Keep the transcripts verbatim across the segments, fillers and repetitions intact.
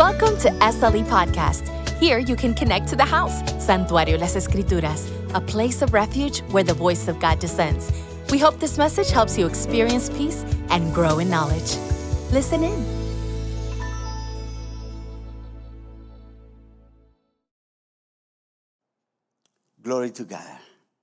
Welcome to S L E Podcast. Here you can connect to the house, Santuario Las Escrituras, a place of refuge where the voice of God descends. We hope this message helps you experience peace and grow in knowledge. Listen in. Glory to God.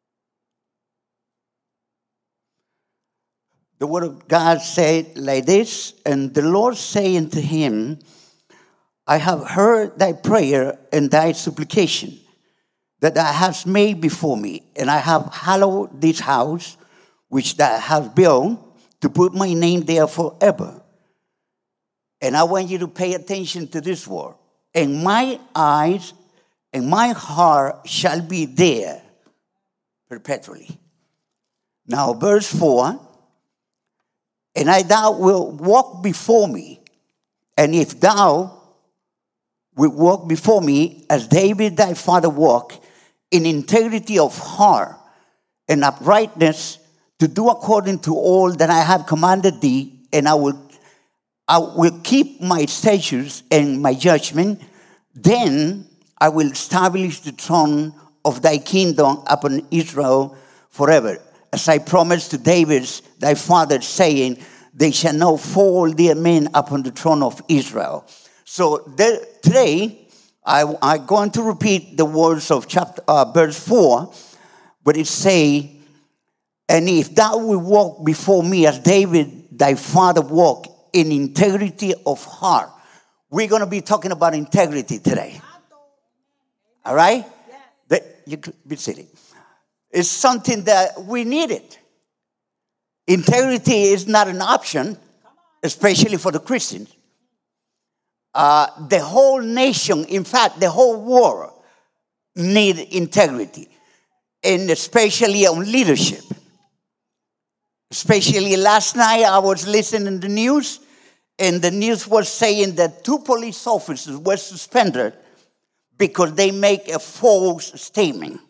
The word of God said like this, and the Lord saying to him, I have heard thy prayer and thy supplication that thou hast made before me, and I have hallowed this house which thou hast built to put my name there forever. And I want you to pay attention to this word. And my eyes and my heart shall be there perpetually. Now, verse four, and I thou will walk before me, and if thou will walk before me as David thy father walked, in integrity of heart and uprightness, to do according to all that I have commanded thee, and I will, I will keep my statutes and my judgment, then I will establish the throne of thy kingdom upon Israel forever. As I promised to David thy father, saying, they shall not fall their men upon the throne of Israel. So there, today, I, I'm going to repeat the words of chapter uh, verse four, but it say, and if thou wilt walk before me as David thy father walked, in integrity of heart. We're going to be talking about integrity today. All right? That, you could be sitting. It's something that we needed. Integrity is not an option, especially for the Christians. Uh, the whole nation, in fact, the whole world need integrity, and especially on leadership. Especially last night, I was listening to the news, and the news was saying that two police officers were suspended because they make a false statement.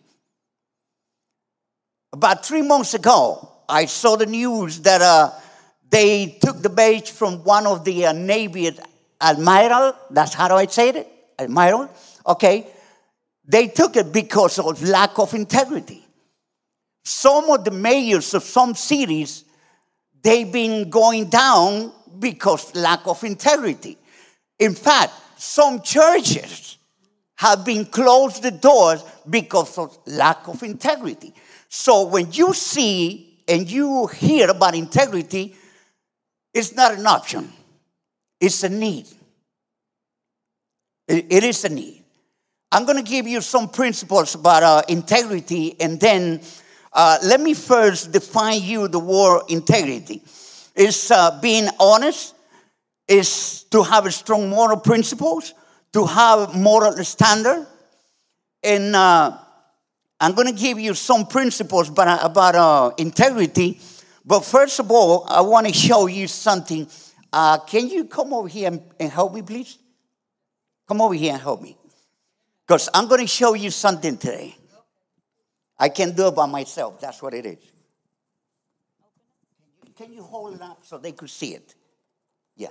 About three months ago, I saw the news that uh, they took the badge from one of the uh, Navy admiral. That's how do I say it? Admiral. Okay. They took it because of lack of integrity. Some of the mayors of some cities, they've been going down because lack of integrity. In fact, some churches have been closed the doors because of lack of integrity. So when you see and you hear about integrity, it's not an option. It's a need. It, it is a need. I'm going to give you some principles about uh, integrity, and then uh, let me first define you the word integrity. It's uh, being honest. It's to have strong moral principles, to have moral standard. And uh, I'm going to give you some principles about, about uh, integrity. But first of all, I want to show you something. Uh, can you come over here and, and help me, please? Come over here and help me. Because I'm going to show you something today. I can do it by myself. That's what it is. Can you hold it up so they could see it? Yeah.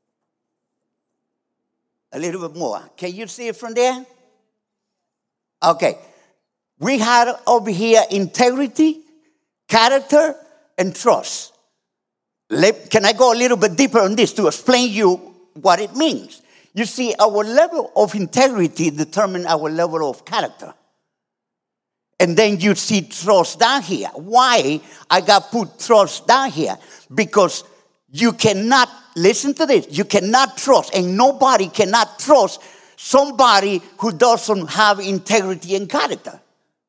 A little bit more. Can you see it from there? Okay. We had over here integrity, character, and trust. Let, can I go a little bit deeper on this to explain you what it means? You see, our level of integrity determines our level of character. And then you see trust down here. Why I got put trust down here? Because you cannot, listen to this, you cannot trust, and nobody cannot trust somebody who doesn't have integrity and character.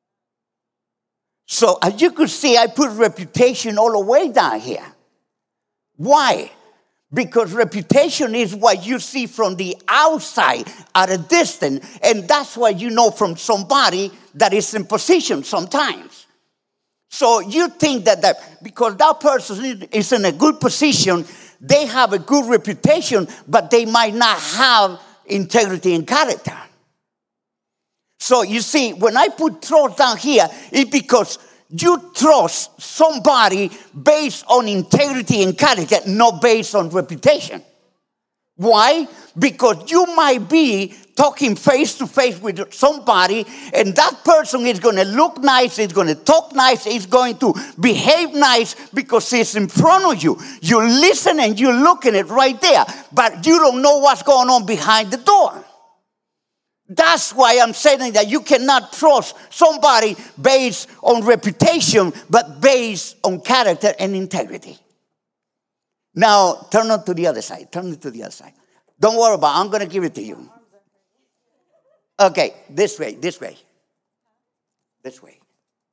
So as you could see, I put reputation all the way down here. Why? Because reputation is what you see from the outside at a distance, and that's what you know from somebody that is in position sometimes. So you think that, that because that person is in a good position, they have a good reputation, but they might not have integrity and character. So you see, when I put trust down here, it's because you trust somebody based on integrity and character, not based on reputation. Why? Because you might be talking face to face with somebody, and that person is going to look nice, is going to talk nice, is going to behave nice because he's in front of you. You listen and you're looking at it right there, but you don't know what's going on behind the door. That's why I'm saying that you cannot trust somebody based on reputation, but based on character and integrity. Now, turn it to the other side. Turn it to the other side. Don't worry about it. I'm going to give it to you. Okay, this way, this way. This way.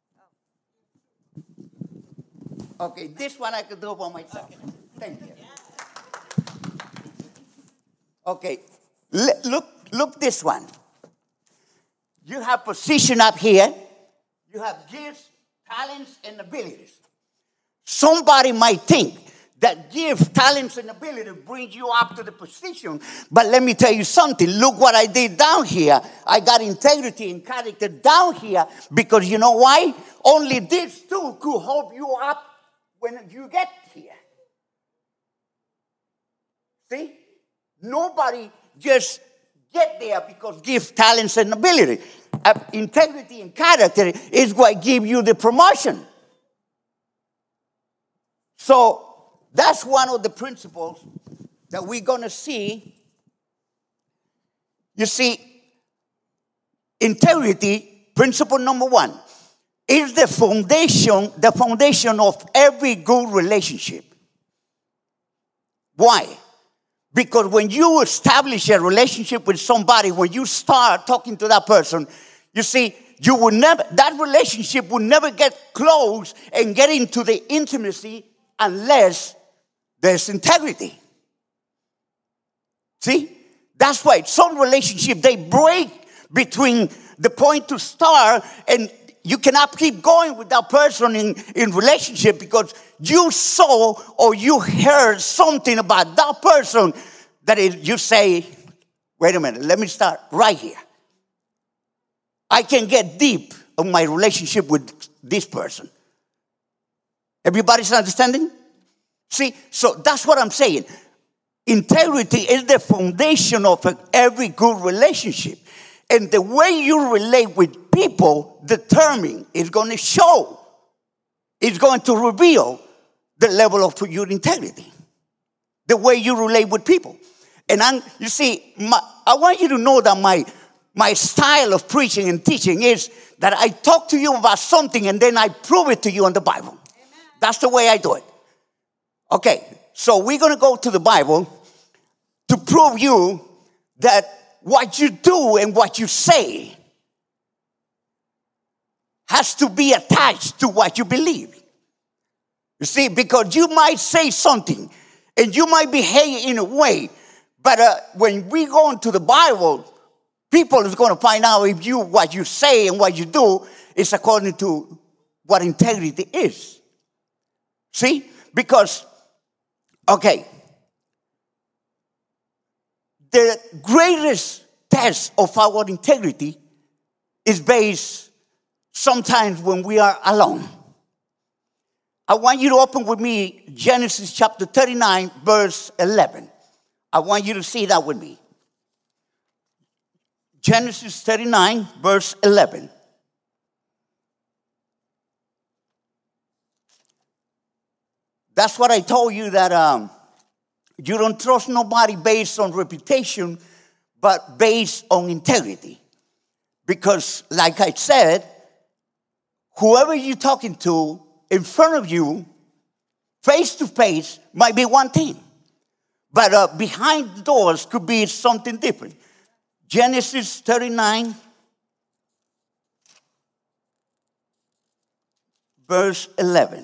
Okay, this one I could do by myself. Thank you. Okay, L- look, look this one. You have position up here. You have gifts, talents, and abilities. Somebody might think that gifts, talents, and ability brings you up to the position. But let me tell you something. Look what I did down here. I got integrity and character down here because you know why? Only these two could help you up when you get here. See? Nobody just get there because gifts, talents, and ability. Uh, integrity and character is what give you the promotion. So that's one of the principles that we're going to see. You see, integrity, principle number one, is the foundation, the foundation of every good relationship. Why? Because when you establish a relationship with somebody, when you start talking to that person, you see, you will never, that relationship will never get close and get into the intimacy unless there's integrity. See? That's why some relationships, they break between the point to start, and you cannot keep going with that person in, in relationship because you saw or you heard something about that person that is, you say, wait a minute, let me start right here. I can get deep in my relationship with this person. Everybody's understanding? See, so that's what I'm saying. Integrity is the foundation of every good relationship. And the way you relate with people determine, it's going to show, it's going to reveal the level of your integrity. The way you relate with people. And I'm, you see, my, I want you to know that my, my style of preaching and teaching is that I talk to you about something and then I prove it to you in the Bible. Amen. That's the way I do it. Okay, so we're going to go to the Bible to prove you that what you do and what you say has to be attached to what you believe. You see, because you might say something and you might behave in a way, but uh, when we go into the Bible, people is going to find out if you what you say and what you do is according to what integrity is. See? Because, okay, the greatest test of our integrity is based sometimes when we are alone. I want you to open with me Genesis chapter thirty-nine, verse eleven. I want you to see that with me. Genesis thirty-nine, verse eleven. That's what I told you, that um, you don't trust nobody based on reputation, but based on integrity. Because, like I said, whoever you're talking to in front of you, face to face, might be one thing. But uh, behind the doors could be something different. Genesis thirty-nine, verse eleven.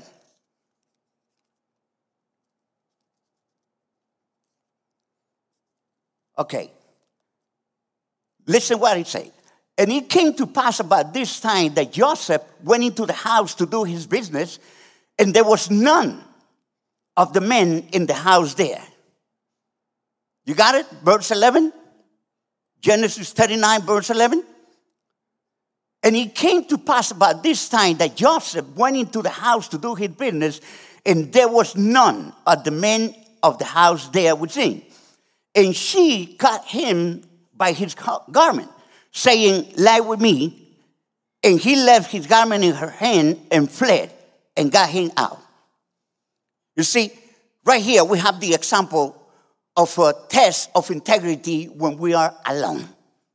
Okay. Listen what it says. And it came to pass about this time that Joseph went into the house to do his business, and there was none of the men in the house there. You got it? Verse eleven? Genesis thirty-nine, verse eleven. And it came to pass about this time that Joseph went into the house to do his business, and there was none of the men of the house there within. And she caught him by his garment, saying, lie with me. And he left his garment in her hand and fled and got him out. You see, right here we have the example of a test of integrity when we are alone.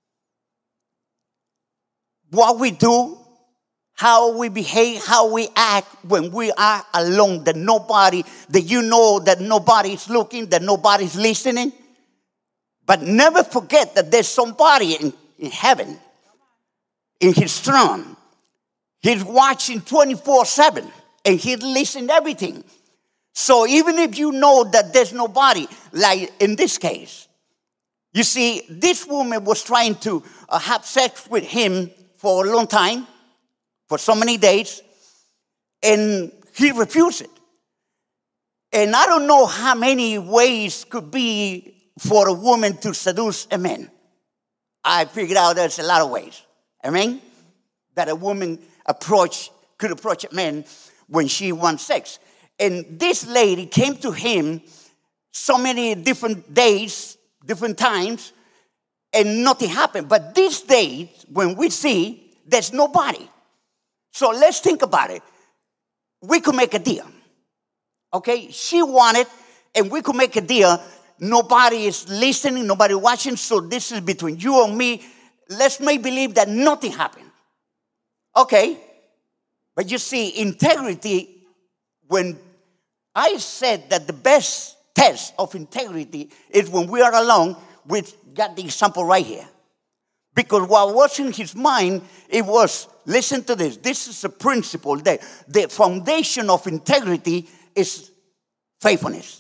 What we do, how we behave, how we act when we are alone, that nobody, that you know that nobody is looking, that nobody is listening. But never forget that there's somebody in, in heaven, in his throne. He's watching twenty-four seven, and he's listening to everything. So even if you know that there's nobody, like in this case, you see, this woman was trying to uh, have sex with him for a long time, for so many days, and he refused it. And I don't know how many ways could be for a woman to seduce a man. I figured out there's a lot of ways. Amen? That a woman approach could approach a man when she wants sex. And this lady came to him so many different days, different times, and nothing happened. But these days, when we see, there's nobody. So let's think about it. We could make a deal. Okay? She wanted, and we could make a deal. Nobody is listening, nobody watching, so this is between you and me. Let's make believe that nothing happened. Okay? But you see, integrity, when I said that the best test of integrity is when we are alone, we got the example right here. Because what was in his mind, it was, listen to this, this is a principle, that the foundation of integrity is faithfulness.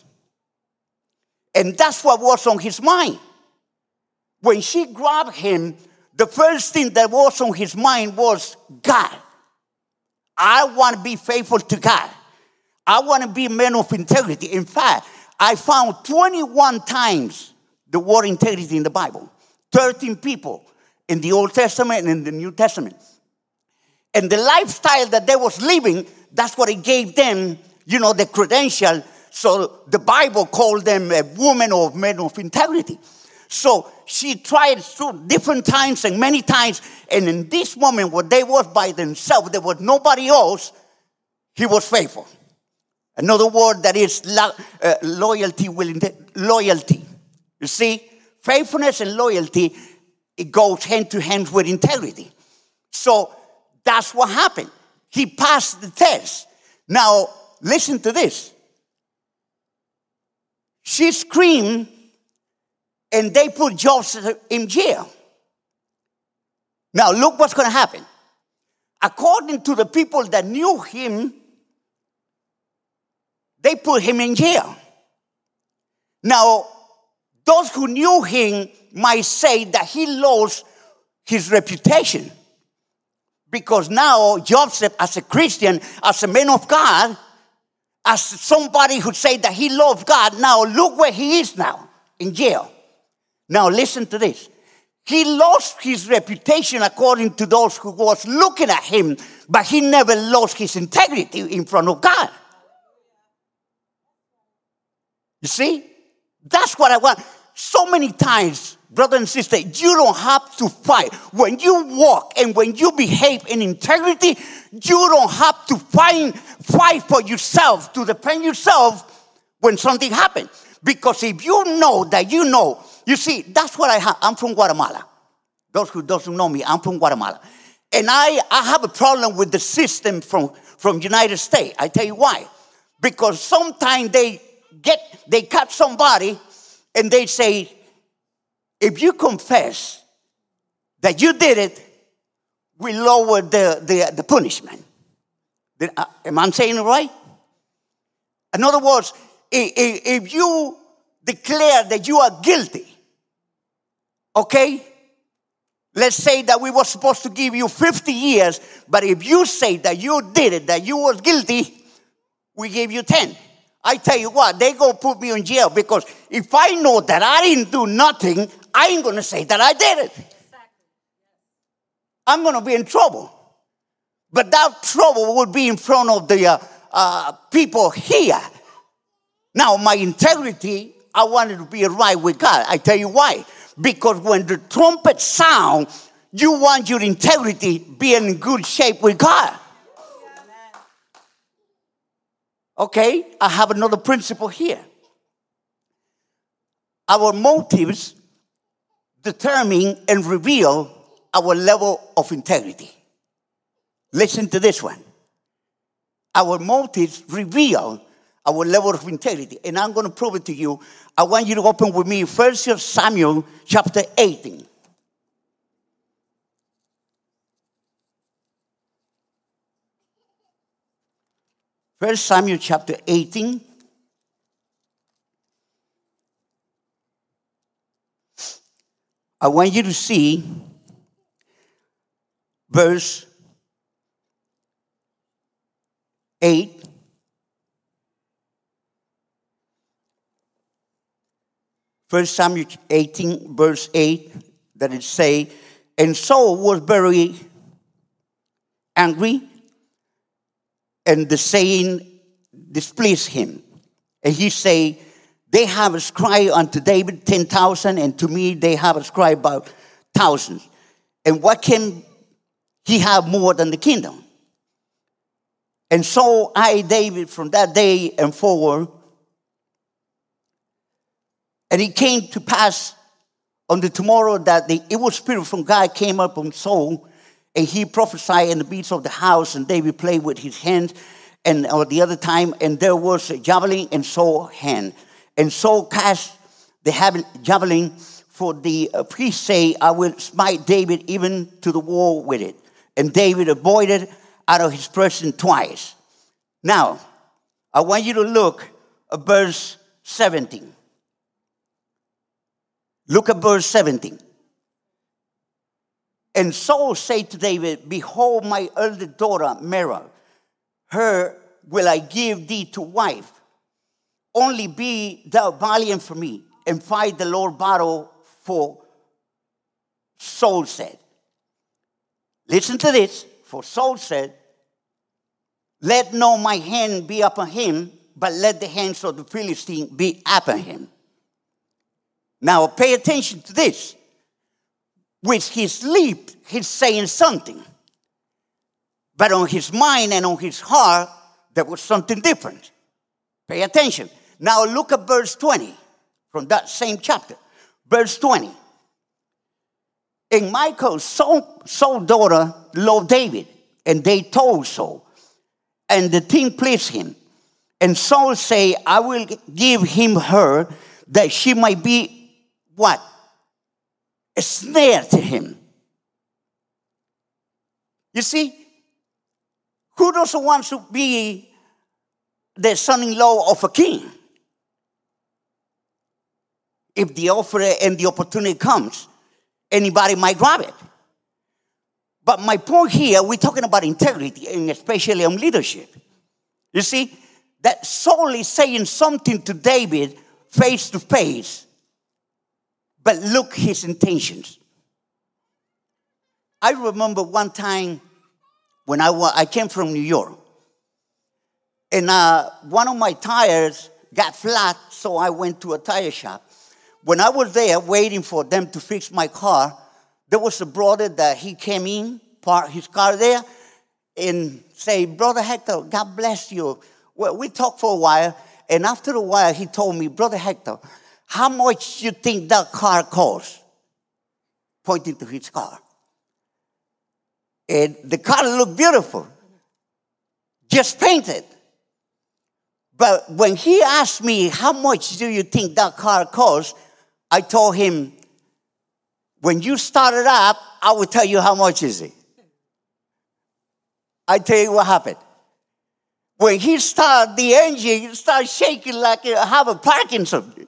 And that's what was on his mind. When she grabbed him, the first thing that was on his mind was God. I want to be faithful to God. I want to be a man of integrity. In fact, I found twenty-one times the word integrity in the Bible. thirteen people in the Old Testament and in the New Testament. And the lifestyle that they was living, that's what it gave them, you know, the credential. So the Bible called them a woman or man of integrity. So she tried through different times and many times. And in this moment, when they was by themselves, there was nobody else, he was faithful. Another word that is lo- uh, loyalty, will loyalty. You see, faithfulness and loyalty, it goes hand to hand with integrity. So that's what happened. He passed the test. Now, listen to this. She screamed, and they put Joseph in jail. Now, look what's going to happen. According to the people that knew him, they put him in jail. Now, those who knew him might say that he lost his reputation. Because now, Joseph, as a Christian, as a man of God, as somebody who said that he loved God, now look where he is now, in jail. Now listen to this. He lost his reputation according to those who was looking at him, but he never lost his integrity in front of God. You see? That's what I want. So many times, brother and sister, you don't have to fight. When you walk and when you behave in integrity, you don't have to fight, fight for yourself, to defend yourself when something happens. Because if you know that you know, you see, that's what I have. I'm from Guatemala. Those who don't know me, I'm from Guatemala. And I, I have a problem with the system from, from United States. I tell you why. Because sometimes they get, they catch somebody and they say, if you confess that you did it, we lower the, the, the punishment. Did, uh, am I saying it right? In other words, if, if you declare that you are guilty, okay, let's say that we were supposed to give you fifty years, but if you say that you did it, that you were guilty, we gave you ten. I tell you what, they go put me in jail, because if I know that I didn't do nothing, I ain't going to say that I did it. I'm going to be in trouble. But that trouble would be in front of the uh, uh, people here. Now, my integrity, I wanted to be right with God. I tell you why. Because when the trumpet sound, you want your integrity being in good shape with God. Okay, I have another principle here. Our motives determine and reveal our level of integrity. Listen to this one. Our motives reveal our level of integrity. And I'm going to prove it to you. I want you to open with me First Samuel chapter eighteen. First Samuel chapter eighteen. I want you to see verse eight. First Samuel eighteen, verse eight, that it say, and Saul was very angry, and the saying displeased him. And he say, they have ascribed unto David ten thousand, and to me they have ascribed about thousands. And what can he have more than the kingdom? And so I, David, from that day and forward, and it came to pass on the tomorrow that the evil spirit from God came up on Saul, and he prophesied in the beasts of the house, and David played with his hands, and or the other time, and there was a javelin in Saul's hand. And Saul cast the javelin, for the uh, priest say, I will smite David even to the wall with it. And David avoided out of his presence twice. Now, I want you to look at verse seventeen. Look at verse seventeen. And Saul said to David, behold, my eldest daughter, Merab, her will I give thee to wife. Only be thou valiant for me, and fight the Lord battle for Saul said. Listen to this. For Saul said, let not my hand be upon him, but let the hands of the Philistine be upon him. Now pay attention to this. With his lip, he's saying something. But on his mind and on his heart, there was something different. Pay attention. Now look at verse twenty from that same chapter. Verse twenty. And Michal, Saul, Saul's daughter, loved David, and they told Saul. And the thing pleased him. And Saul say, I will give him her, that she might be what? A snare to him. You see, who doesn't want to be the son-in-law of a king? If the offer and the opportunity comes, anybody might grab it. But my point here, we're talking about integrity, and especially on leadership. You see, that Saul is saying something to David face to face. But look his intentions. I remember one time when I, I came from New York. And uh, one of my tires got flat, so I went to a tire shop. When I was there waiting for them to fix my car, there was a brother that he came in, parked his car there, and say, Brother Hector, God bless you. Well, we talked for a while, and after a while he told me, Brother Hector, how much you think that car costs? Pointing to his car. And the car looked beautiful. Just painted. But when he asked me, how much do you think that car costs? I told him, when you start it up, I will tell you how much is it. I tell you what happened. When he started the engine, it started shaking like I have a Parkinson.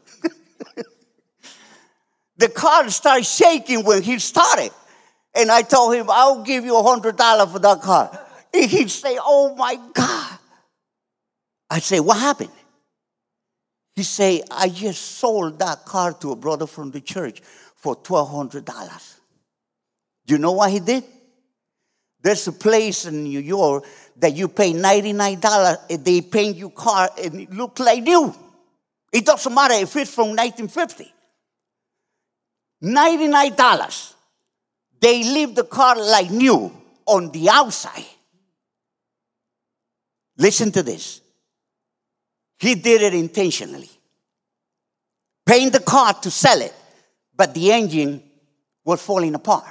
The car started shaking when he started. And I told him, I'll give you one hundred dollars for that car. And he'd say, oh my God. I say, what happened? He say, I just sold that car to a brother from the church for twelve hundred dollars. You know what he did? There's a place in New York that you pay ninety-nine dollars and they paint your car and it looks like new. It doesn't matter if it's from nineteen fifty. ninety-nine dollars. They leave the car like new on the outside. Listen to this. He did it intentionally. Paying the car to sell it, but the engine was falling apart.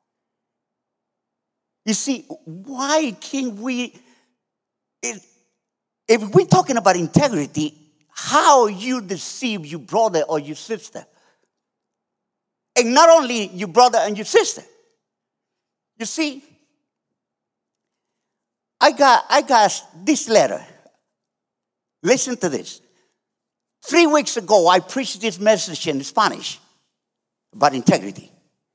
You see, why can't we, if, if we're talking about integrity, how you deceive your brother or your sister? And not only your brother and your sister. You see, I got, I got this letter. Listen to this. Three weeks ago, I preached this message in Spanish about integrity.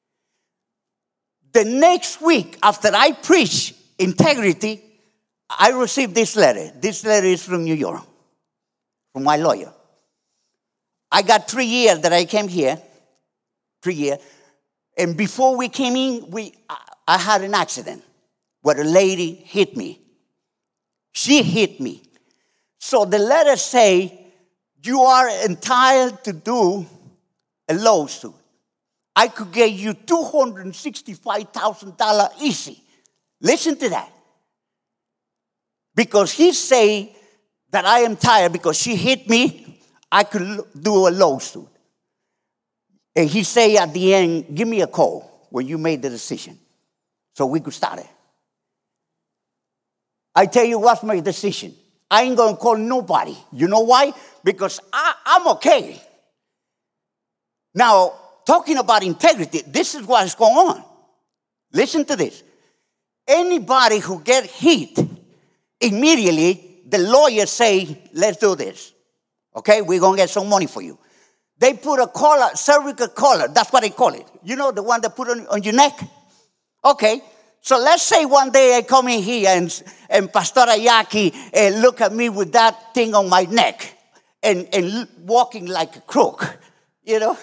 The next week, after I preached integrity, I received this letter. This letter is from New York, from my lawyer. I got three years that I came here, three years. And before we came in, we, I had an accident where a lady hit me. She hit me. So the letter say, you are entitled to do a lawsuit. I could get you two hundred sixty-five thousand dollars easy. Listen to that. Because he say that I am tired because she hit me, I could do a lawsuit. And he say at the end, give me a call when you made the decision so we could start it. I tell you what's my decision. I ain't going to call nobody. You know why? Because I, I'm okay. Now, talking about integrity, this is what is going on. Listen to this. Anybody who get hit, immediately the lawyers say, let's do this. Okay, we're going to get some money for you. They put a collar, cervical collar. That's what they call it. You know, the one they put on, on your neck? Okay. So let's say one day I come in here and, and Pastora Yaki uh, look at me with that thing on my neck and, and walking like a crook, you know?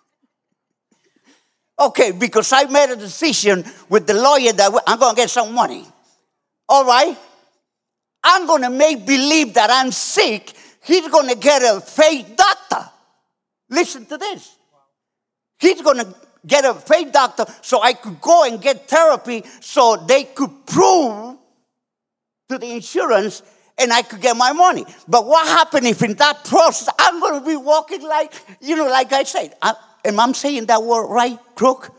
Okay, because I made a decision with the lawyer that I'm going to get some money. All right? I'm going to make believe that I'm sick. He's going to get a fake doctor. Listen to this. He's going to get a fake doctor so I could go and get therapy so they could prove to the insurance and I could get my money. But what happened if in that process I'm going to be walking like, you know, like I said, I, am I saying that word right, crook?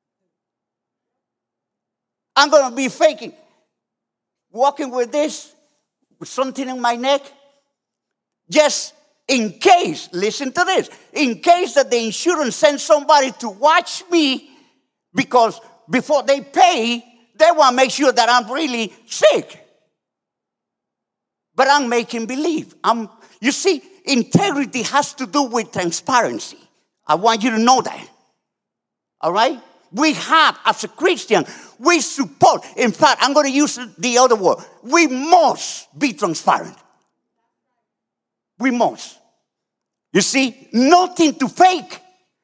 I'm going to be faking, walking with this, with something in my neck, just in case, listen to this, in case that the insurance sends somebody to watch me because before they pay, they want to make sure that I'm really sick. But I'm making believe. I'm, you see, integrity has to do with transparency. I want you to know that. All right? We have, as a Christian, we support. In fact, I'm going to use the other word. We must be transparent. We must. You see, nothing to fake.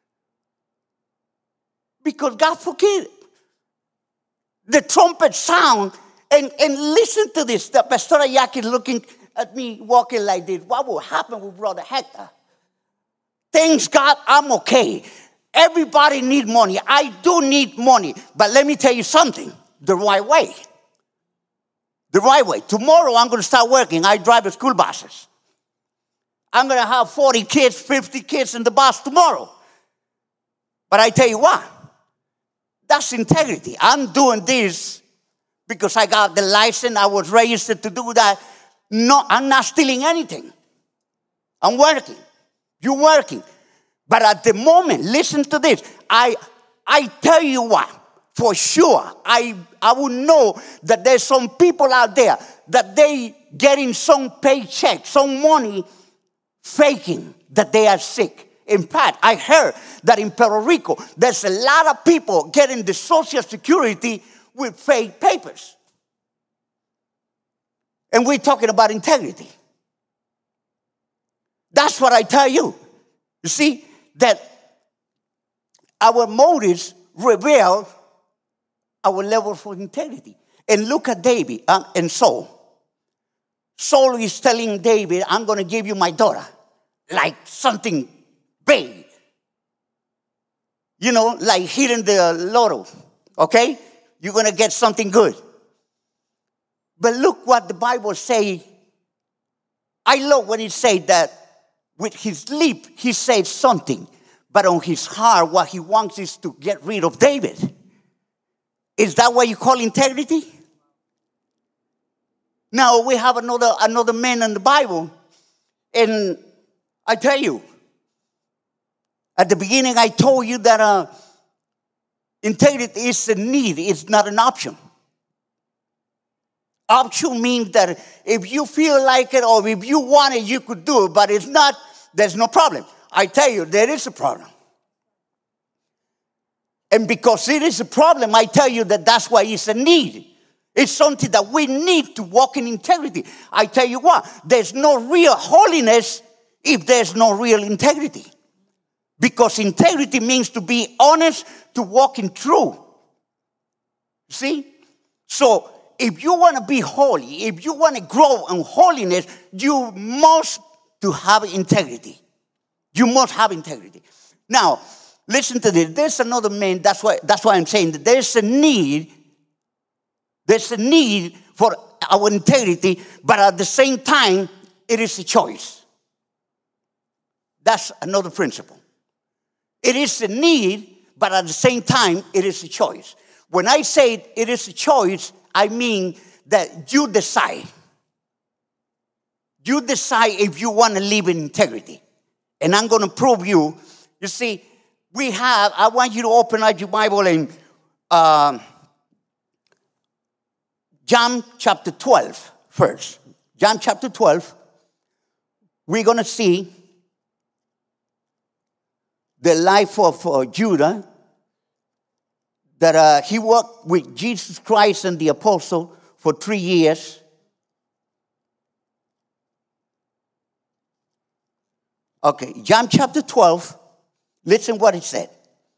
Because God forbid. The trumpet sound, and, and listen to this. The Pastor Yaki is looking at me walking like this. What will happen with Brother Hector? Thanks God, I'm okay. Everybody needs money. I do need money. But let me tell you something. The right way. The right way. Tomorrow I'm going to start working. I drive the school buses. I'm going to have forty kids, fifty kids in the bus tomorrow. But I tell you what, that's integrity. I'm doing this because I got the license. I was registered to do that. No, I'm not stealing anything. I'm working. You're working. But at the moment, listen to this. I, I tell you what, for sure, I, I will know that there's some people out there that they getting some paycheck, some money, faking that they are sick. In fact, I heard that in Puerto Rico, there's a lot of people getting the Social Security with fake papers. And we're talking about integrity. That's what I tell you. You see, that our motives reveal our level of integrity. And look at David uh, and Saul. Saul is telling David, I'm going to give you my daughter. like something big. You know, like hitting the lotto, okay? You're going to get something good. But look what the Bible says. I love when it says that with his lip, he says something. But on his heart, what he wants is to get rid of David. Is that what you call integrity? Now, we have another, another man in the Bible. And I tell you, at the beginning, I told you that uh, integrity is a need. It's not an option. Option means that if you feel like it or if you want it, you could do it. But if not, there's no problem. I tell you, there is a problem. And because it is a problem, I tell you that that's why it's a need. It's something that we need to walk in integrity. I tell you what, there's no real holiness if there's no real integrity. Because integrity means to be honest, to walk in truth. See? So, if you want to be holy, if you want to grow in holiness, you must to have integrity. You must have integrity. Now, listen to this. There's another man. That's why, that's why I'm saying that there's a need. There's a need for our integrity, but at the same time, it is a choice. That's another principle. It is a need, but at the same time, it is a choice. When I say it is a choice, I mean that you decide. You decide if you want to live in integrity. And I'm going to prove you. You see, we have, I want you to open up your Bible in uh, John chapter twelve first. John chapter twelve. We're going to see the life of uh, Judah. That uh, he worked with Jesus Christ and the apostle for three years. Okay, John chapter twelve. Listen what it said.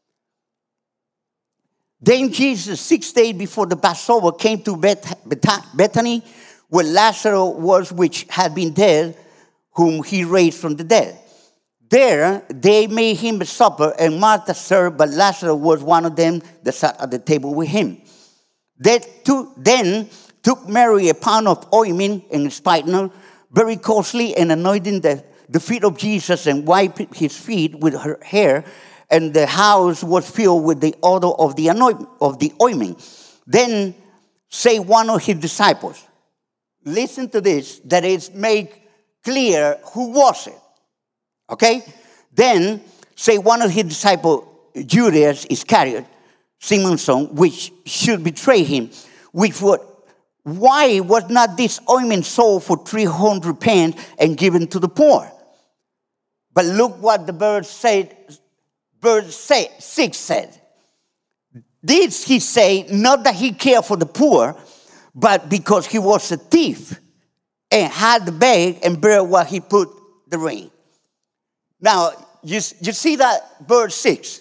Then Jesus, six days before the Passover, came to Beth- Beth- Bethany, where Lazarus was, which had been dead, whom he raised from the dead. There they made him a supper, and Martha served, but Lazarus was one of them that sat at the table with him. They took, then took Mary a pound of ointment and spikenard, very costly, and anointing the, the feet of Jesus, and wiped his feet with her hair, and the house was filled with the odor of the anoint, of the ointment. Then say one of his disciples, listen to this, that is made clear who was it. Okay? Then say one of his disciples, Judas Iscariot, Simon's son, which should betray him, which would, why was not this ointment sold for three hundred pence and given to the poor? But look what the verse said, verse six said. This he said, not that he cared for the poor, but because he was a thief and had the bag and bare what he put the ring. Now, you, you see that verse six?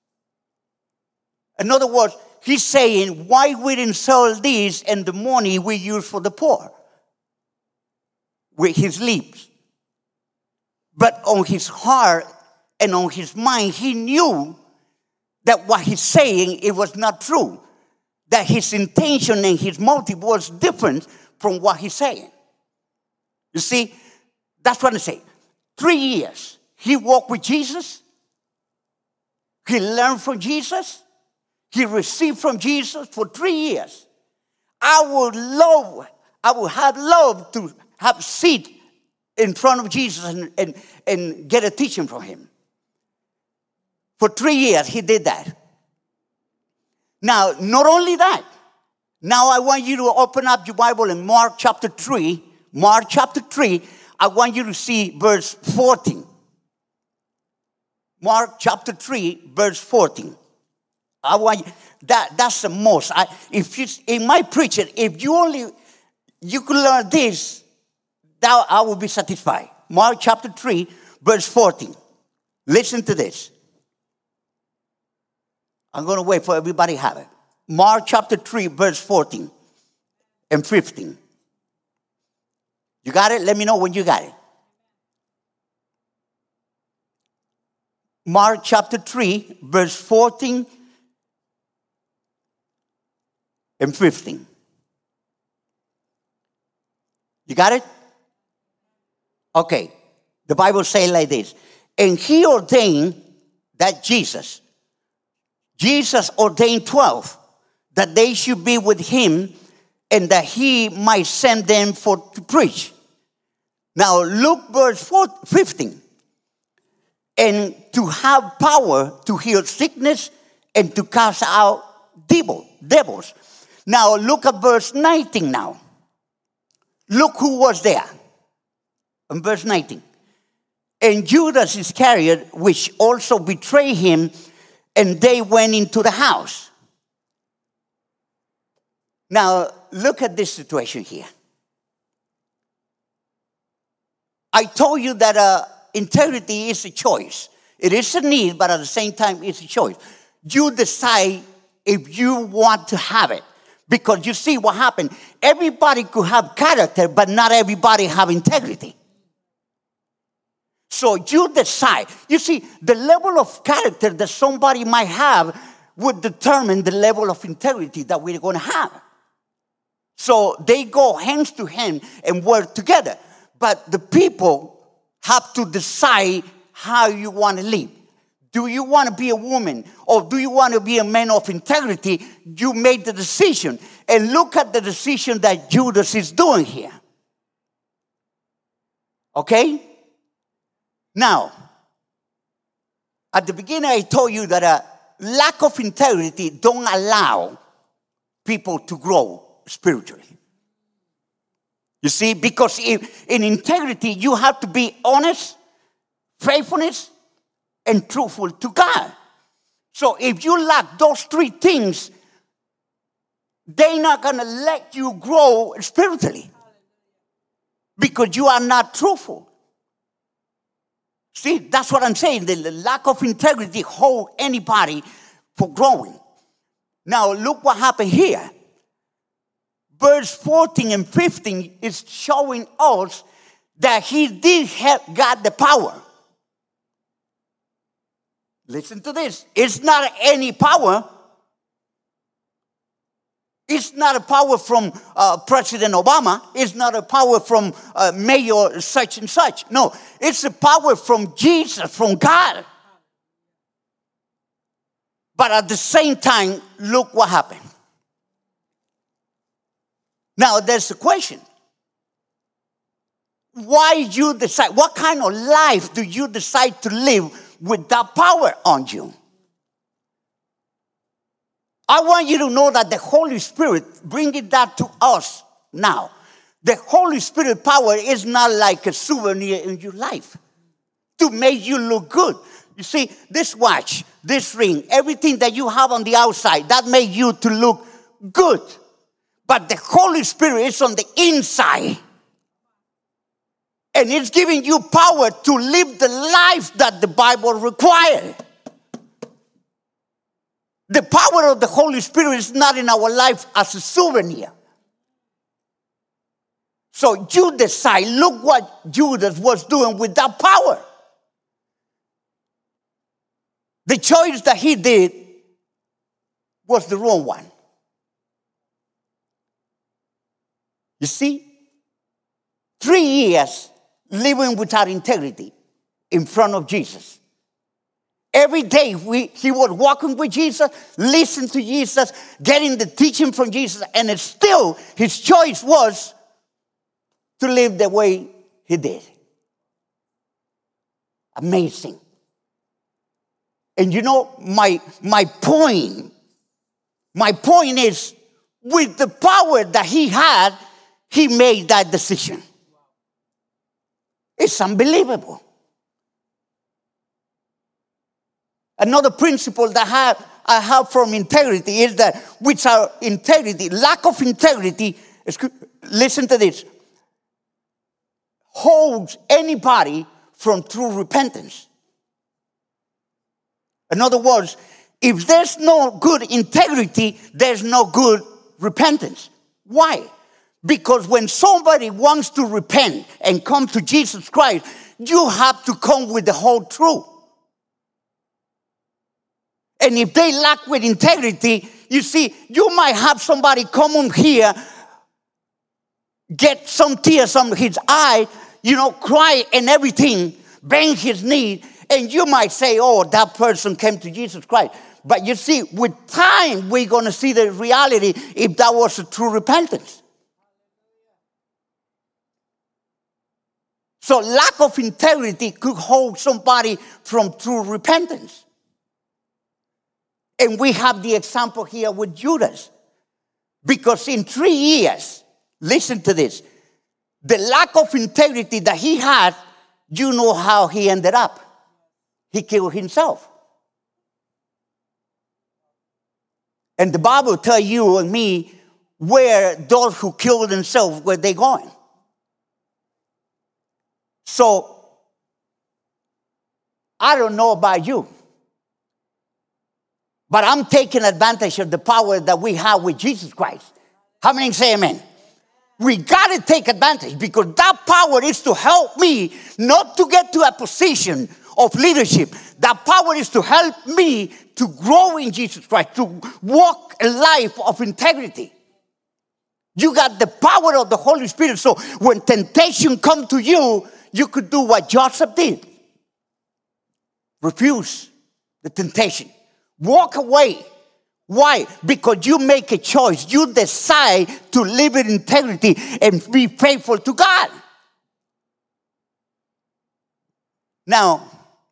In other words, he's saying, why we didn't sell this and the money we use for the poor? With his lips. But on his heart and on his mind, he knew that what he's saying, it was not true. That his intention and his motive was different from what he's saying. You see, that's what I say. Three years. He walked with Jesus. He learned from Jesus. He received from Jesus for three years. I would love, I would have loved to have a seat in front of Jesus and, and, and get a teaching from him. For three years, he did that. Now, not only that, now I want you to open up your Bible in Mark chapter three. Mark chapter three, I want you to see verse fourteen. Mark chapter three, verse fourteen. I want you, that that's the most. I, if you in my preaching, if you only you could learn this, that I will be satisfied. Mark chapter three, verse fourteen. Listen to this. I'm going to wait for everybody to have it. Mark chapter three, verse fourteen and fifteen. You got it? Let me know when you got it. Mark chapter three, verse fourteen and fifteen. You got it? Okay. The Bible says like this. And he ordained that Jesus, Jesus ordained twelve, that they should be with him and that he might send them for to preach. Now look verse four, fifteen. And to have power to heal sickness and to cast out devil, devils. Now look at verse nineteen now. Look who was there. In verse nineteen. And Judas Iscariot, which also betrayed him, and they went into the house. Now, look at this situation here. I told you that uh, integrity is a choice. It is a need, but at the same time, it's a choice. You decide if you want to have it. Because you see what happened. Everybody could have character, but not everybody have integrity. So you decide. You see, the level of character that somebody might have would determine the level of integrity that we're going to have. So they go hands to hand and work together. But the people have to decide how you want to live. Do you want to be a woman or do you want to be a man of integrity? You made the decision. And look at the decision that Judas is doing here. Okay? Now, at the beginning I told you that a lack of integrity don't allow people to grow spiritually. You see, because if, in integrity you have to be honest, faithfulness, and truthful to God. So if you lack those three things, they're not going to let you grow spiritually because you are not truthful. See, that's what I'm saying. The lack of integrity holds anybody for growing. Now, look what happened here. Verse fourteen and fifteen is showing us that he did have got the power. Listen to this. It's not any power. It's not a power from uh, President Obama. It's not a power from uh, Mayor such and such. No, it's a power from Jesus, from God. But at the same time, look what happened. Now, there's a question. Why you decide? What kind of life do you decide to live with that power on you? I want you to know that the Holy Spirit bringing that to us now. The Holy Spirit power is not like a souvenir in your life to make you look good. You see, this watch, this ring, everything that you have on the outside, that makes you to look good. But the Holy Spirit is on the inside. And it's giving you power to live the life that the Bible requires. The power of the Holy Spirit is not in our life as a souvenir. So you decide, look what Judas was doing with that power. The choice that he did was the wrong one. You see, three years living without integrity in front of Jesus. Every day we, he was walking with Jesus, listening to Jesus, getting the teaching from Jesus, and it's still his choice was to live the way he did. Amazing. And you know, my, my point, my point is, with the power that he had, he made that decision. It's unbelievable. Another principle that I have, I have from integrity is that without integrity, lack of integrity, listen to this, holds anybody from true repentance. In other words, if there's no good integrity, there's no good repentance. Why? Because when somebody wants to repent and come to Jesus Christ, you have to come with the whole truth. And if they lack with integrity, you see, you might have somebody come on here, get some tears on his eye, you know, cry and everything, bang his knee, and you might say, oh, that person came to Jesus Christ. But you see, with time, we're going to see the reality if that was a true repentance. So lack of integrity could hold somebody from true repentance. And we have the example here with Judas. Because in three years, listen to this, the lack of integrity that he had, you know how he ended up. He killed himself. And the Bible tells you and me where those who killed themselves, where they going. So, I don't know about you, but I'm taking advantage of the power that we have with Jesus Christ. How many say amen? We got to take advantage because that power is to help me not to get to a position of leadership. That power is to help me to grow in Jesus Christ, to walk a life of integrity. You got the power of the Holy Spirit. So when temptation comes to you, you could do what Joseph did. Refuse the temptation. Walk away. Why? Because you make a choice. You decide to live in integrity and be faithful to God. Now,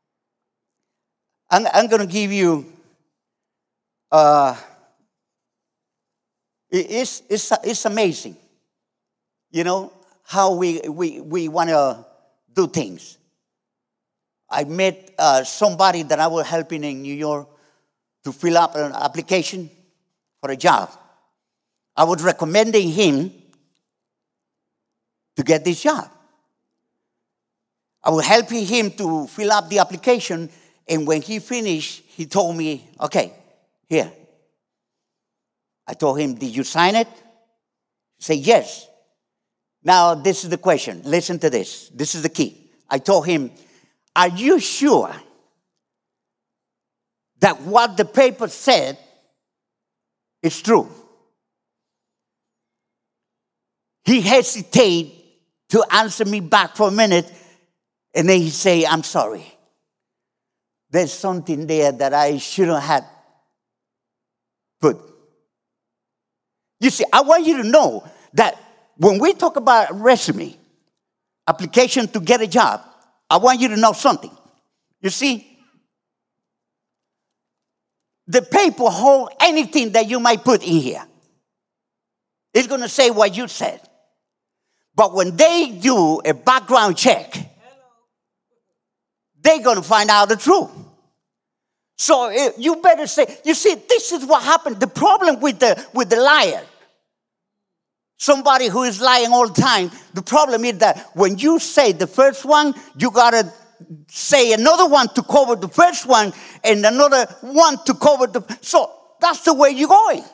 I'm, I'm going to give you, uh, it, it's, it's, it's amazing, you know, how we, we, we want to do things. I met uh, somebody that I was helping in New York to fill up an application for a job. I was recommending him to get this job. I was helping him to fill up the application, and when he finished, he told me, okay, here. I told him, did you sign it? He said, yes. Now, this is the question. Listen to this. This is the key. I told him, are you sure that what the paper said is true? He hesitated to answer me back for a minute, and then he said, I'm sorry. There's something there that I shouldn't have put. You see, I want you to know that when we talk about resume, application to get a job, I want you to know something. You see, the paper hold anything that you might put in here. It's going to say what you said. But when they do a background check, they're going to find out the truth. So it, you better say, you see, this is what happened. The problem with the, with the liar, somebody who is lying all the time, the problem is that when you say the first one, you got to say another one to cover the first one and another one to cover the... So that's the way you're going.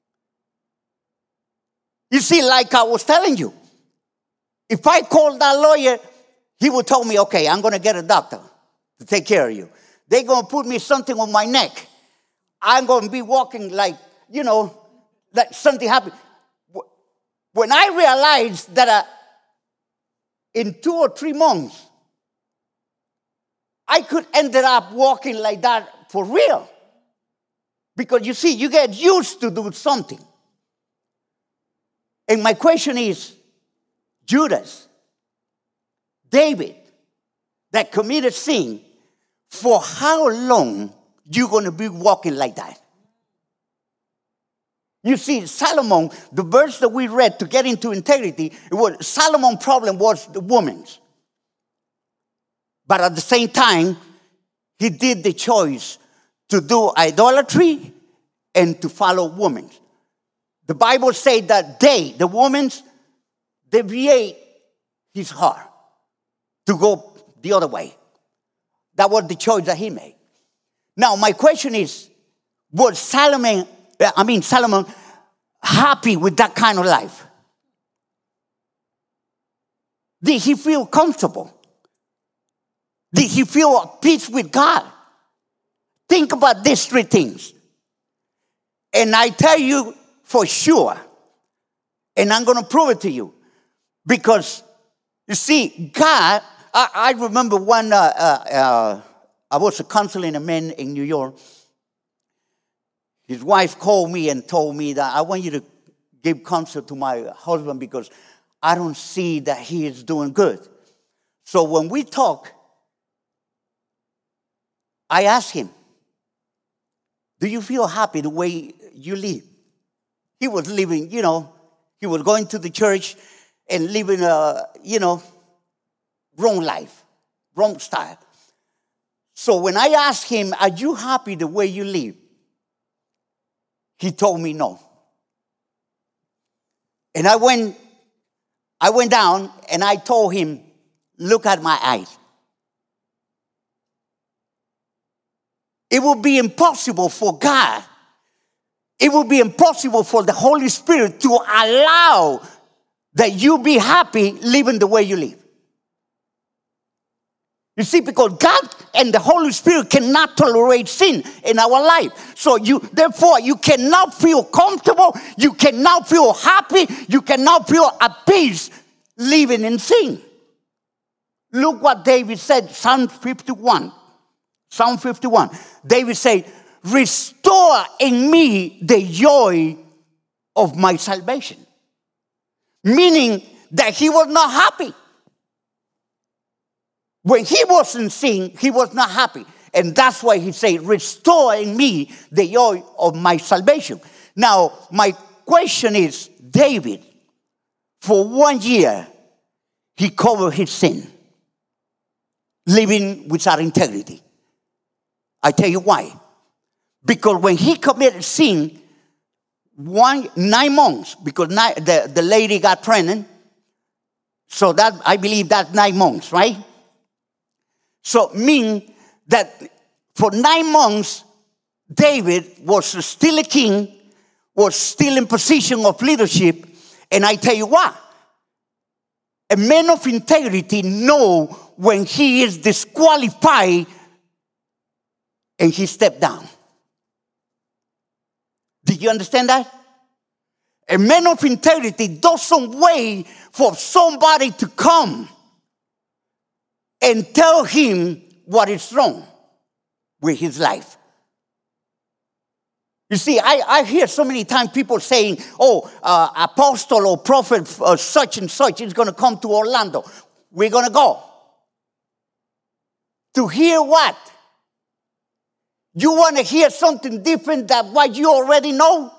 You see, like I was telling you, if I called that lawyer, he would tell me, okay, I'm going to get a doctor to take care of you. They're going to put me something on my neck. I'm going to be walking like, you know, like something happened. When I realized that uh, in two or three months, I could end up walking like that for real. Because you see, you get used to do something. And my question is, Judas, David, that committed sin, for how long you going to be walking like that? You see, Solomon, the verse that we read to get into integrity, it was Solomon's problem was the woman's. But at the same time, he did the choice to do idolatry and to follow women. The Bible says that they, the women, deviate his heart to go the other way. That was the choice that he made. Now, my question is, was Solomon, I mean Solomon, happy with that kind of life? Did he feel comfortable? Did he feel at peace with God? think about these three things. And I tell you for sure, and I'm going to prove it to you. Because, you see, God, I, I remember one, uh, uh, uh, I was counseling a man in New York. His wife called me and told me that I want you to give counsel to my husband because I don't see that he is doing good. So when we talk, I asked him, do you feel happy the way you live? He was living, you know, he was going to the church and living a, you know, wrong life, wrong style. So when I asked him, are you happy the way you live? He told me no. And I went, I went down and I told him, look at my eyes. It would be impossible for God, it would be impossible for the Holy Spirit to allow that you be happy living the way you live. You see, because God and the Holy Spirit cannot tolerate sin in our life. So you, therefore, you cannot feel comfortable, you cannot feel happy, you cannot feel at peace living in sin. Look what David said, Psalm fifty-one. Psalm fifty-one. David said, restore in me the joy of my salvation. Meaning that he was not happy. When he was in sin, he was not happy. And that's why he said, restore in me the joy of my salvation. Now, my question is, David, for one year, he covered his sin, living without integrity. I tell you why. Because when he committed sin, one, nine months, because nine, the, the lady got pregnant, so that, I believe that's nine months, right? So mean that for nine months, David was still a king, was still in position of leadership. And I tell you what, a man of integrity know when he is disqualified and he stepped down. Did you understand that? A man of integrity doesn't wait for somebody to come and tell him what is wrong with his life. You see, I, I hear so many times people saying, oh, uh, apostle or prophet uh, such and such is going to come to Orlando. We're going to go. To hear what? You want to hear something different than what you already know?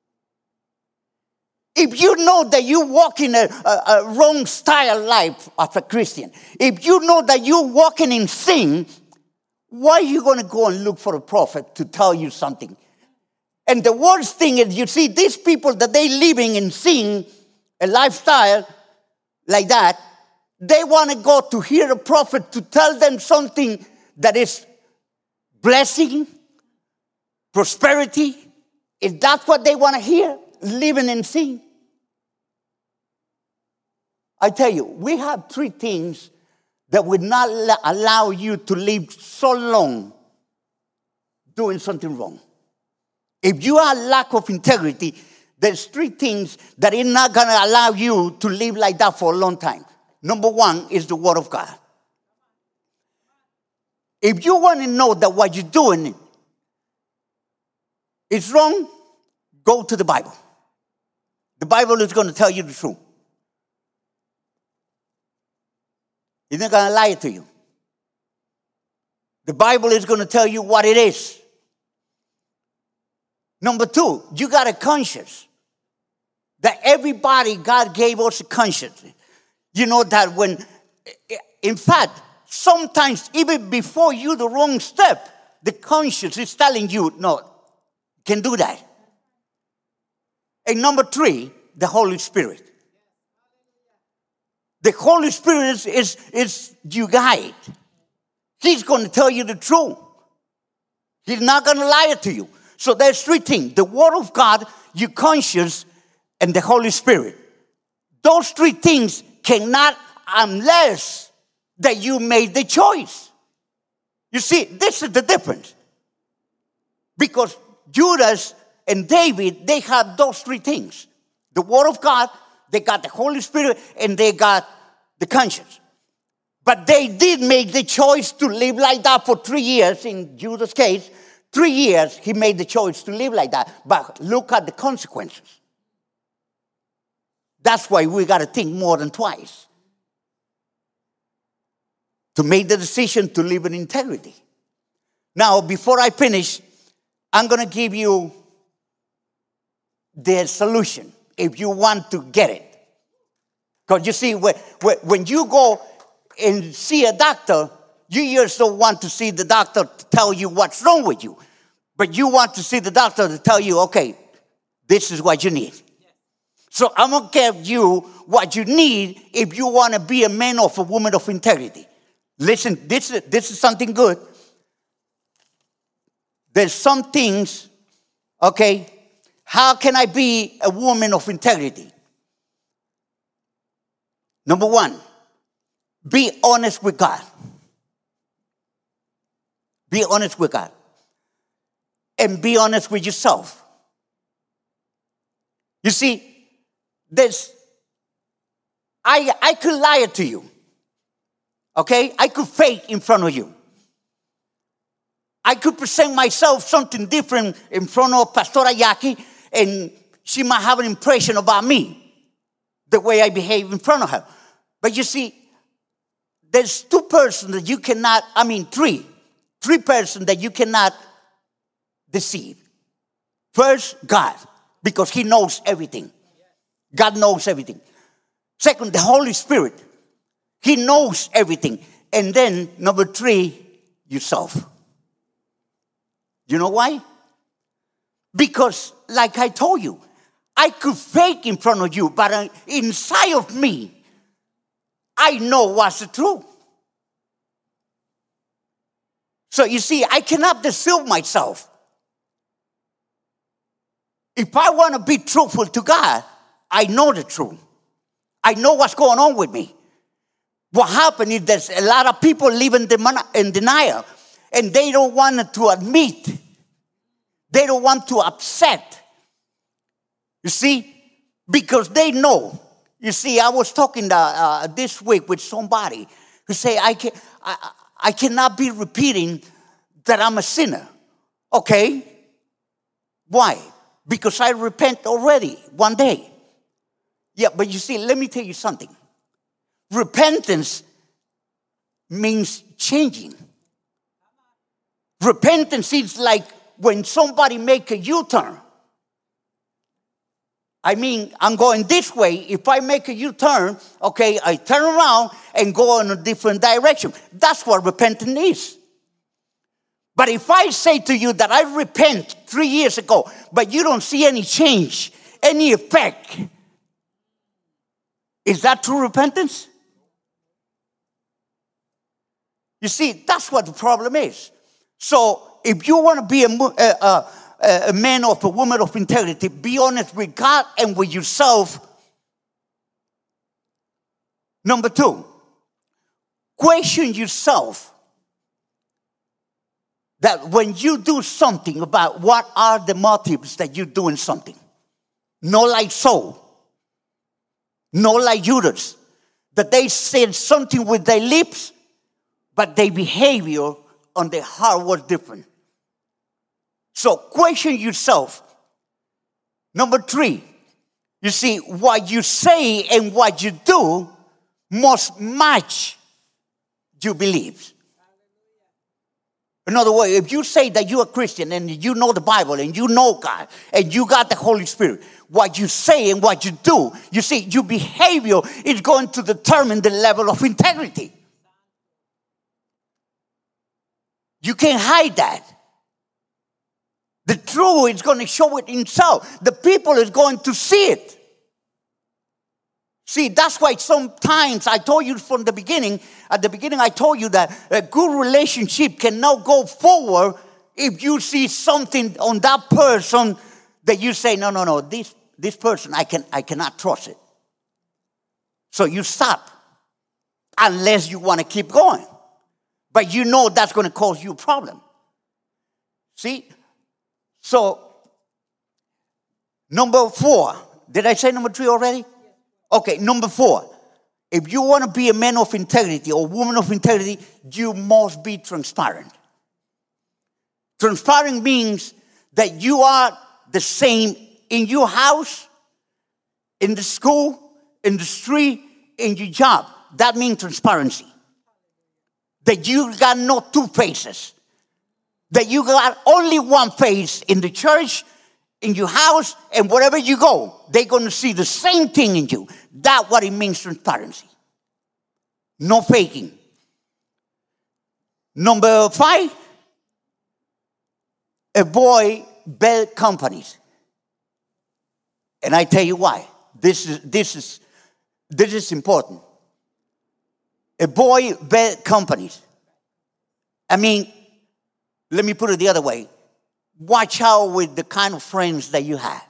If you know that you walk in a, a, a wrong style life as a Christian, if you know that you're walking in sin, why are you going to go and look for a prophet to tell you something? And the worst thing is, you see, these people that they living in sin, a lifestyle like that, they want to go to hear a prophet to tell them something that is blessing, prosperity. Is that what they want to hear? Living in sin. I tell you, we have three things that would not allow you to live so long doing something wrong. If you have lack of integrity, there's three things that are not going to allow you to live like that for a long time. Number one is the Word of God. If you want to know that what you're doing is wrong, go to the Bible. The Bible is going to tell you the truth. It's not going to lie to you. The Bible is going to tell you what it is. Number two, you got a conscience. That everybody, God gave us a conscience. You know that when, in fact, sometimes even before you the wrong step, the conscience is telling you, no, can do that. And number three, the Holy Spirit. The Holy Spirit is, is, is your guide. He's going to tell you the truth. He's not going to lie to you. So there's three things. The Word of God, your conscience, and the Holy Spirit. Those three things cannot unless that you made the choice. You see, this is the difference. Because Judas and David, they had those three things. The Word of God, they got the Holy Spirit, and they got the conscience. But they did make the choice to live like that for three years. In Judas' case, three years he made the choice to live like that. But look at the consequences. That's why we got to think more than twice to make the decision to live in integrity. Now, before I finish, I'm going to give you the solution if you want to get it. Because you see, when you go and see a doctor, you just don't want to see the doctor to tell you what's wrong with you. But you want to see the doctor to tell you, okay, this is what you need. So I'm going to give you what you need if you want to be a man or a woman of integrity. Listen, this is, this is something good. There's some things, okay, how can I be a woman of integrity? Number one, be honest with God. Be honest with God. And be honest with yourself. You see, there's, I, I could lie to you. Okay? I could fake in front of you. I could present myself something different in front of Pastora Jackie, and she might have an impression about me, the way I behave in front of her. But you see, there's two persons that you cannot, I mean three, three persons that you cannot deceive. First, God, because he knows everything. God knows everything. Second, the Holy Spirit. He knows everything. And then, number three, yourself. You know why? Because, like I told you, I could fake in front of you, but inside of me, I know what's the truth. So you see, I cannot deceive myself. If I want to be truthful to God, I know the truth. I know what's going on with me. What happened is there's a lot of people living in denial, and they don't want to admit. They don't want to upset. You see, because they know. You see, I was talking uh, uh, this week with somebody who say, I, can, I, I cannot be repeating that I'm a sinner. Okay. Why? Because I repent already one day. Yeah, but you see, let me tell you something. Repentance means changing. Repentance is like when somebody make a U-turn. I mean, I'm going this way. If I make a U-turn, okay, I turn around and go in a different direction. That's what repentance is. But if I say to you that I repent three years ago, but you don't see any change, any effect, is that true repentance? You see, that's what the problem is. So if you want to be a, a, a, a man or a woman of integrity, be honest with God and with yourself. Number two, question yourself that when you do something, about what are the motives that you're doing something. Not like Saul. Not like Judas. That they said something with their lips, but their behavior on their heart was different. So question yourself. Number three, you see, what you say and what you do must match your beliefs. In other words, if you say that you're a Christian and you know the Bible and you know God and you got the Holy Spirit, what you say and what you do, you see, your behavior is going to determine the level of integrity. You can't hide that. The truth is going to show it itself. The people is going to see it. See, that's why sometimes I told you from the beginning, at the beginning I told you that a good relationship cannot go forward if you see something on that person that you say, no, no, no, this, this person, I, can, I cannot trust it. So you stop, unless you want to keep going. But you know that's going to cause you a problem. See, So, number four. Did I say number three already? Okay, number four. If you want to be a man of integrity or woman of integrity, you must be transparent. Transparent means that you are the same in your house, in the school, in the street, in your job. That means transparency. That you got no two faces. That you got only one face in the church, in your house, and wherever you go, they're going to see the same thing in you. That's what it means, transparency. No faking. Number five, avoid bad companies. And I tell you why. This is, this is, this is important. Avoid bad companies. I mean, let me put it the other way. Watch out with the kind of friends that you have.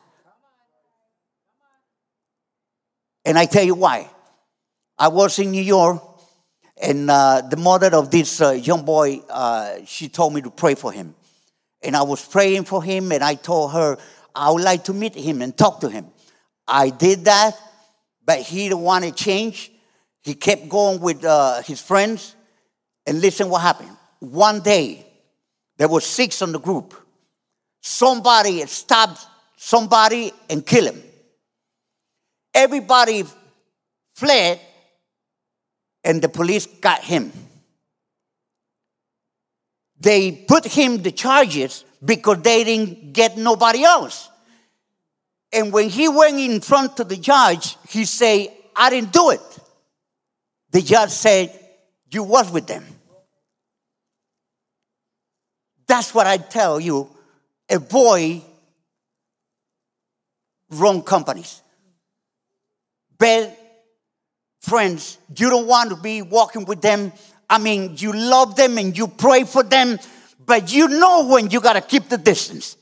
And I tell you why. I was in New York, and uh, the mother of this uh, young boy, uh, she told me to pray for him. And I was praying for him, and I told her I would like to meet him and talk to him. I did that, but he didn't want to change. He kept going with uh, his friends. And listen what happened. One day, there were six on the group. Somebody stabbed somebody and killed him. Everybody fled, and the police got him. They put him the charges because they didn't get nobody else. And when he went in front of the judge, he said, I didn't do it. The judge said, you was with them. That's what I tell you. Avoid wrong companies. Bad friends. You don't want to be walking with them. I mean, you love them and you pray for them, but you know when you got to keep the distance.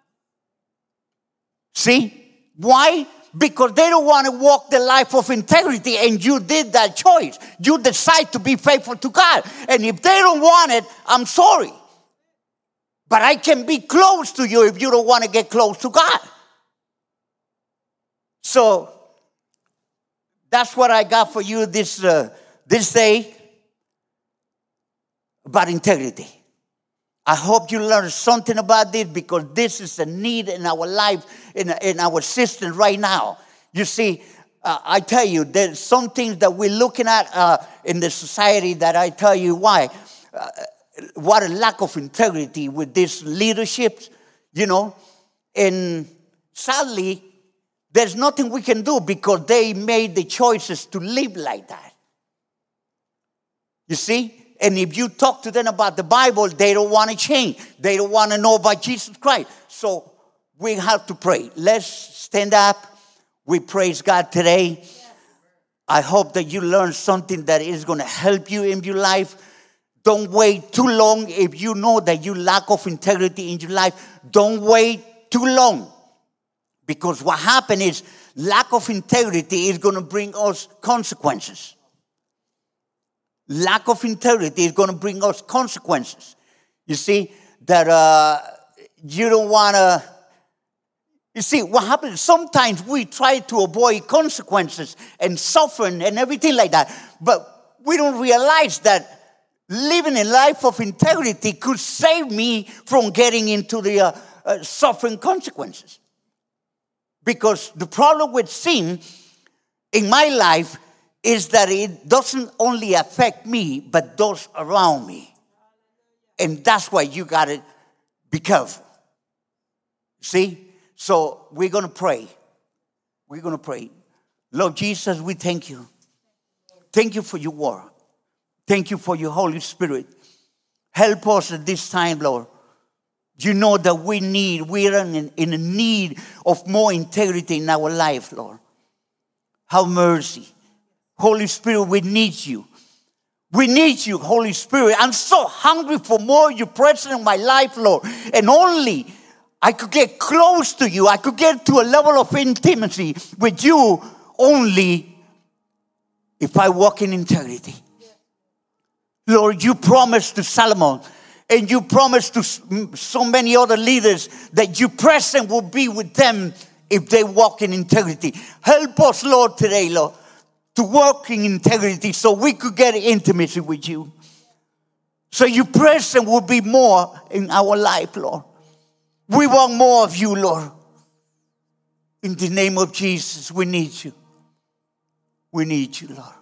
See? Why? Because they don't want to walk the life of integrity, and you did that choice. You decide to be faithful to God. And if they don't want it, I'm sorry. But I can be close to you if you don't want to get close to God. So, that's what I got for you this, uh, this day about integrity. I hope you learned something about this, because this is a need in our life, in, in our system right now. You see, uh, I tell you, there's some things that we're looking at uh, in the society that I tell you why. Uh, what a lack of integrity with this leadership, you know. And sadly, there's nothing we can do because they made the choices to live like that. You see? And if you talk to them about the Bible, they don't want to change. They don't want to know about Jesus Christ. So we have to pray. Let's stand up. We praise God today. Yes. I hope that you learn something that is going to help you in your life. Don't wait too long. If you know that you lack of integrity in your life, don't wait too long. Because what happens is lack of integrity is going to bring us consequences. Lack of integrity is going to bring us consequences. You see, that uh, you don't want to... You see, what happens, sometimes we try to avoid consequences and suffering and everything like that. But we don't realize that living a life of integrity could save me from getting into the uh, uh, suffering consequences. Because the problem with sin in my life is that it doesn't only affect me, but those around me. And that's why you got to be careful. See? So we're going to pray. We're going to pray. Lord Jesus, we thank you. Thank you for your word. Thank you for your Holy Spirit. Help us at this time, Lord. You know that we need, we're in, in a need of more integrity in our life, Lord. Have mercy. Holy Spirit, we need you. We need you, Holy Spirit. I'm so hungry for more of your presence in my life, Lord. And only I could get close to you. I could get to a level of intimacy with you only if I walk in integrity. Lord, you promised to Solomon, And you promised to so many other leaders that your presence will be with them if they walk in integrity. Help us, Lord, today, Lord, to walk in integrity so we could get intimacy with you. So your presence will be more in our life, Lord. We want more of you, Lord. In the name of Jesus, we need you. We need you, Lord.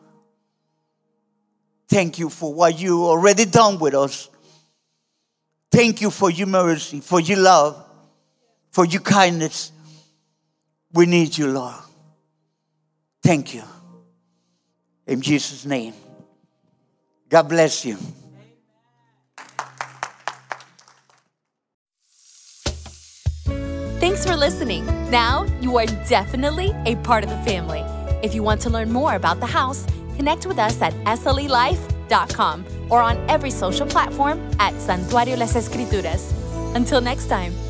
Thank you for what you already done with us. Thank you for your mercy, for your love, for your kindness. We need you, Lord. Thank you. In Jesus' name. God bless you. Thanks for listening. Now you are definitely a part of the family. If you want to learn more about the house, connect with us at S L E life dot com or on every social platform at Santuario Las Escrituras. Until next time.